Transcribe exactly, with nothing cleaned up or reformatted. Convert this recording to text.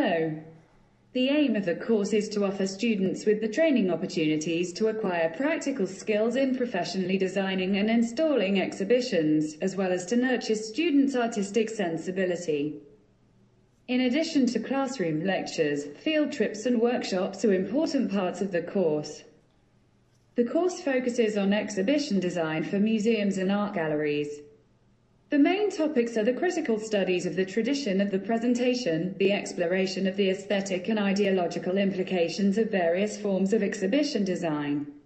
Hello. The aim of the course is to offer students with the training opportunities to acquire practical skills in professionally designing and installing exhibitions, as well as to nurture students' artistic sensibility. In addition to classroom lectures, field trips and workshops are important parts of the course. The course focuses on exhibition design for museums and art galleries. The main topics are the critical studies of the tradition of the presentation, the exploration of the aesthetic and ideological implications of various forms of exhibition design,